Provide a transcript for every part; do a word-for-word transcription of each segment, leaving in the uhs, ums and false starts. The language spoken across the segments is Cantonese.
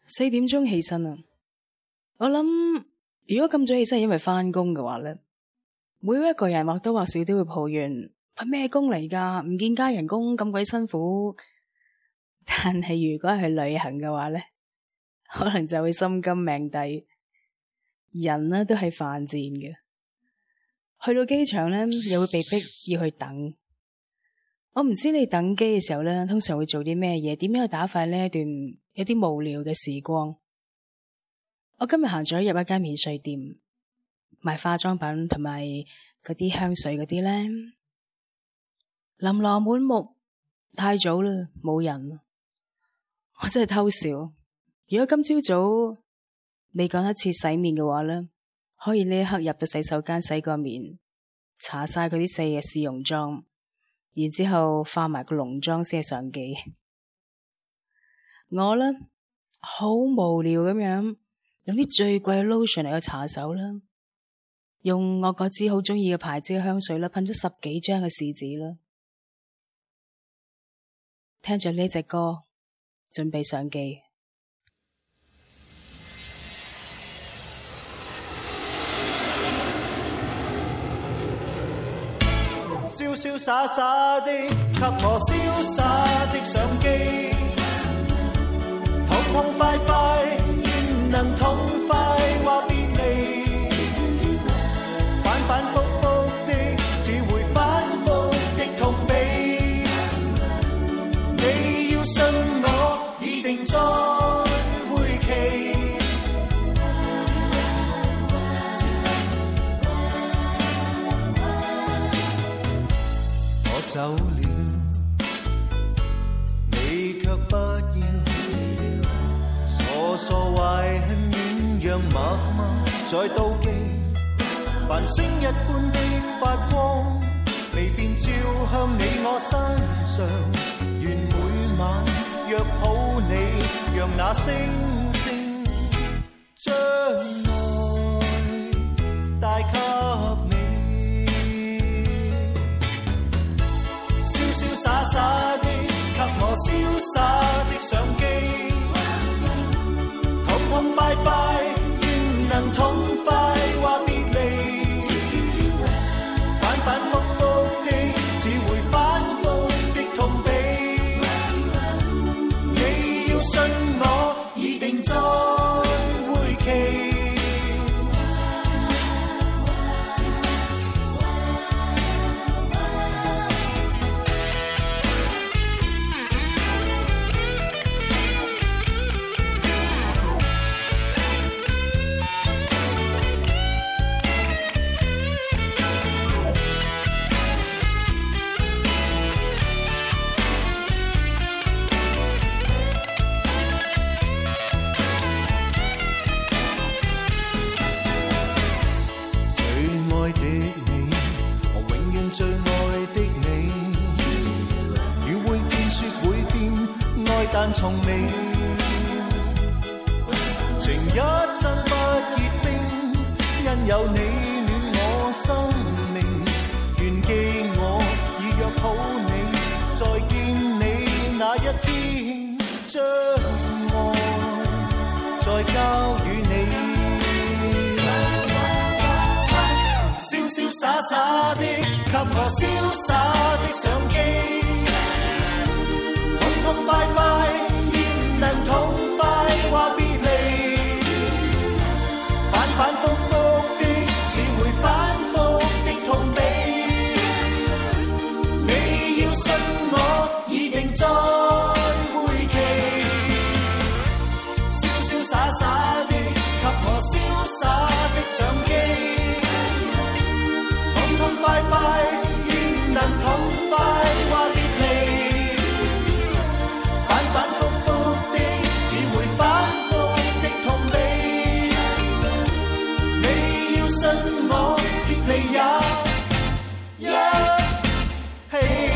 四點鐘起身啊！我諗如果咁早起身係因為返工嘅話咧，每一個人或多或少都會抱怨份咩工嚟噶，唔見加人工咁鬼辛苦。但係如果係去旅行嘅話咧，可能就會心甘命抵。人呢都係犯賤嘅，去到機場咧又會被逼要去等。我唔知你等機嘅時候咧，通常會做啲咩嘢？點樣去打發呢一段有啲無聊嘅時光？我今日行咗入一間免稅店，賣化妝品同埋嗰啲香水嗰啲咧，琳琅滿目。太早啦，冇人。我真係偷笑。如果今朝早未趕得切洗面嘅話咧，可以呢一刻入到洗手間洗個面，搽晒嗰啲四嘅試用妝，然之後化埋個濃妝先係上機。我咧好無聊咁樣用啲最貴嘅 lotion 嚟去搽手啦，用我嗰支好中意嘅牌子嘅香水啦，噴咗十幾張嘅試紙啦，聽着呢隻歌，準備上機。 瀟瀟灑灑的給我瀟灑的相機，痛痛快快願能痛快話別離，反反覆覆的只會反覆的痛悲。你要信我，已定在會期。我走了，你卻不要，傻傻懷恨遠讓默默在妒忌，繁星一般的發光，未變照向你我身上，願每晚約好你，讓那星星將愛帶給你。瀟瀟灑灑的給我瀟灑的相機，痛痛快快願能痛快話別離，反反覆覆的只會反覆的痛悲。你要信我，已定在會期。最愛的你，雨會變雪會變，愛但從未，情一生不結冰，因有你暖我生命。願記我已約好你，再見你那一天，將愛再交予你。瀟瀟灑灑的給我瀟灑的相機，痛痛快快願能痛快話別離，反反覆覆的只會反覆的痛悲。你要信我，已定在會期。瀟瀟灑灑的給我瀟灑的相機，痛快快願能痛快話別離，反反覆覆的只會反覆的痛悲。你要信我，別離也一起。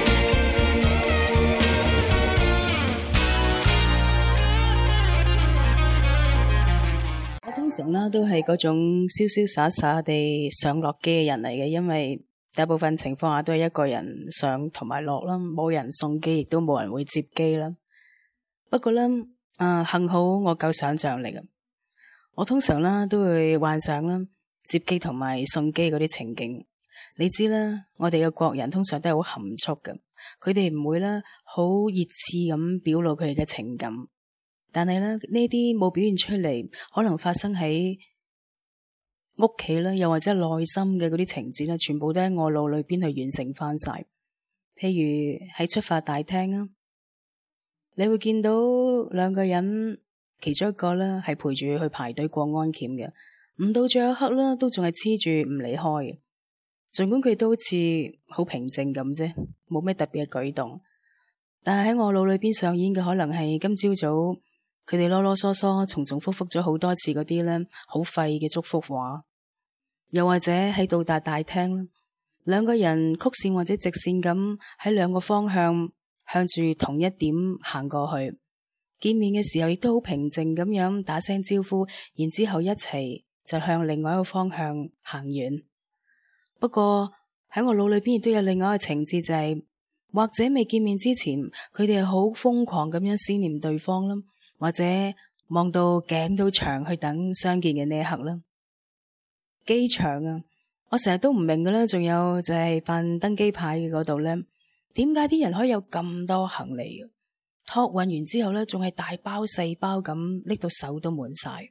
我通常啦都係嗰種瀟瀟灑灑地上落機嘅人嚟嘅，因為大部分情況下都係一個人上同埋落啦，冇人送機，亦都冇人會接機啦。不過咧， 啊，幸好我夠想像力啊！我通常啦都會幻想啦接機同埋送機嗰啲情景。你知啦，我哋嘅國人通常都係好含蓄嘅，佢哋唔會啦好熱熾咁表露佢哋嘅情感。但係咧呢啲冇表現出嚟，可能發生喺屋企啦，又或者內心嘅嗰啲情節啦，全部都喺我腦裏邊去完成翻晒。譬如喺出發大廳啊，你會見到兩個人，其中一個咧係陪住去排隊過安檢嘅，唔到最後一刻啦，都仲係黐住唔離開嘅。盡管佢都好似好平靜咁啫，冇咩特別嘅舉動，但係喺我腦裏邊上演嘅可能係今朝早佢哋囉囉嗦嗦、重重複複咗好多次嗰啲咧好廢嘅祝福話，又或者喺到達大廳啦，兩個人曲線或者直線咁喺兩個方向向住同一點行過去，見面嘅時候亦都好平靜咁樣打聲招呼，然之後一齊就向另外一個方向行遠。不過喺我腦裏邊亦都有另外一個情節，就係或者未見面之前，佢哋係好瘋狂咁樣思念對方啦，或者望到頸都長去等相見嘅呢一刻啦。機場啊，我成日都唔明嘅啦，仲有就係辦登機牌嘅嗰度咧，點解啲人可以有咁多行李嘅？託運完之後咧，仲係大包細包咁拎到手都滿晒。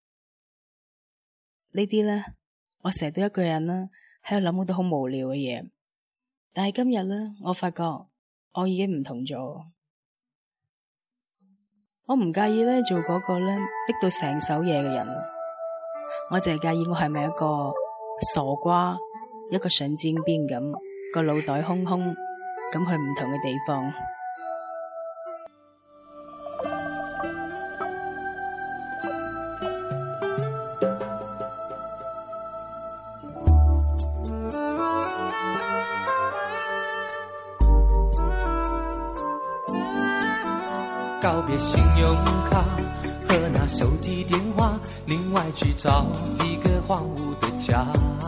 呢啲咧，我成日都一個人啦，喺度諗好多好無聊嘅嘢。但係今日咧，我發覺我已經唔同咗。我唔介意咧做嗰個咧拎到成手嘢嘅人，我淨係介意我係咪一個傻瓜，一個神經病咁，個腦袋空空咁去唔同嘅地方。 告別信用卡和那手提電話，另外去找一個荒蕪的家。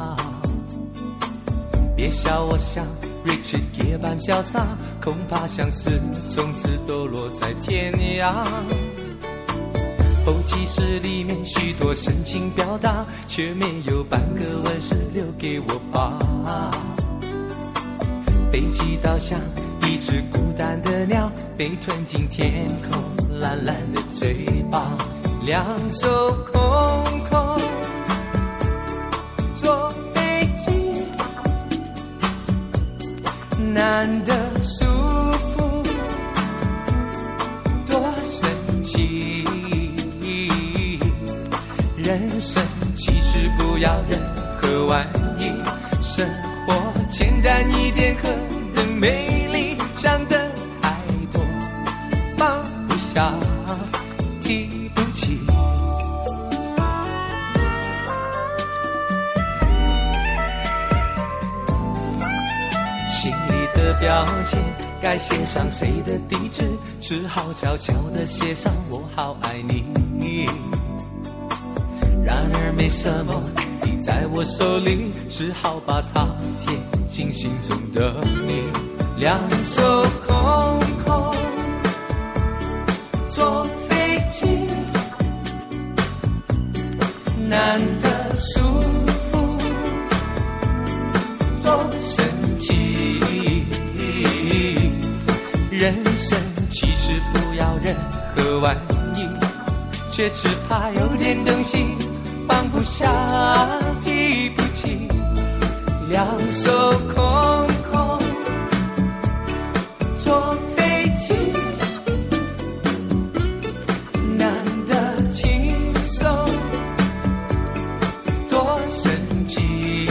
別笑我像 Richard Gere 般瀟灑，恐怕相思從此都落在天涯。後記室裡面許多深情表達，卻沒有半個吻是留給我吧。飛機倒向一隻孤單的鳥，被吞進天空藍藍的嘴巴，兩手空空坐飛機，難得舒服多神奇。人生其實不要任何玩意，生活簡單一點可的美麗，想得太多放不下提不起。心裡的標籤該寫上誰的地址，只好悄悄地寫上我好愛你。然而沒什麼遞在我手裡，只好把它貼進心中的你。兩手空空坐飛機，難得舒服多神奇。人生其實不要任何玩意，卻只怕有點東西放不下提不起。兩手空空坐飛機，難得輕鬆多神奇。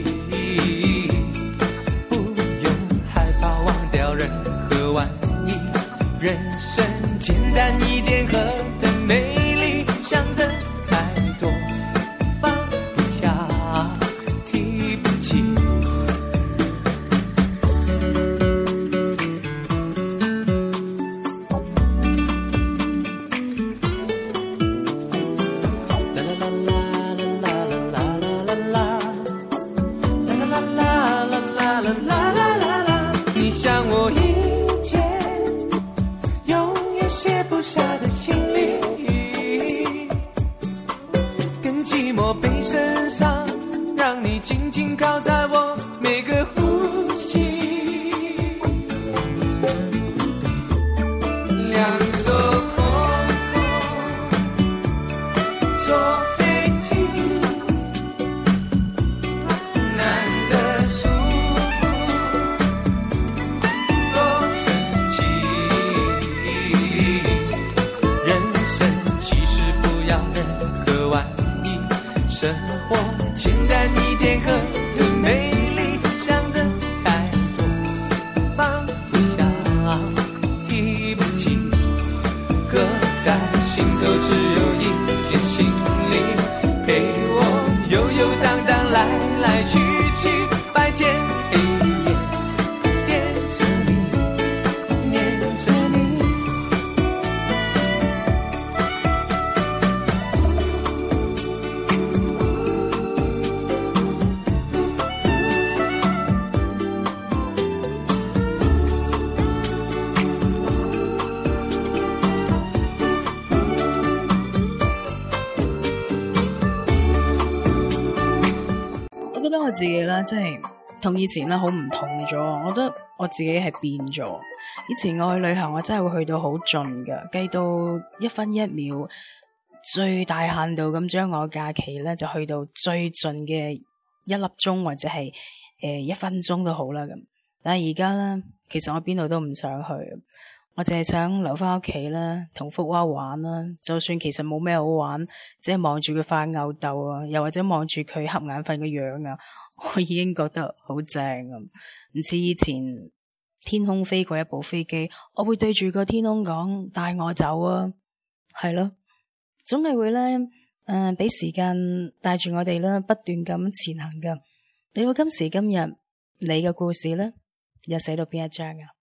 不用害怕忘掉任何玩意，人生簡單一點和的美麗，想得太多放不下提不起。 生活，简单一点和的美丽，想的太多，放不下，提不起，搁在心头只有一件行李，陪我悠悠荡荡来来去去，白天黑夜惦着你，念着你。 我覺得我自己咧，即係同以前咧好唔同咗。我覺得我自己係變咗。以前我去旅行，我真係會去到好盡㗎，計到一分一秒，最大限度咁將我假期咧就去到最盡嘅一粒鐘或者係誒、呃、一分鐘都好啦咁。但係而家咧，其實我邊度都唔想去，我淨係想留翻屋企啦，同福娃玩啦。就算其實冇咩好玩，即係望住佢發吽哣啊，又或者望住佢瞌眼瞓嘅樣啊，我已經覺得好正啊！唔似以前天空飛過一部飛機，我會對住個天空講帶我走啊，係咯，總係會咧誒，俾、呃、時間帶住我哋啦，不斷咁前行噶。你話今時今日你嘅故事咧，又寫到邊一章啊？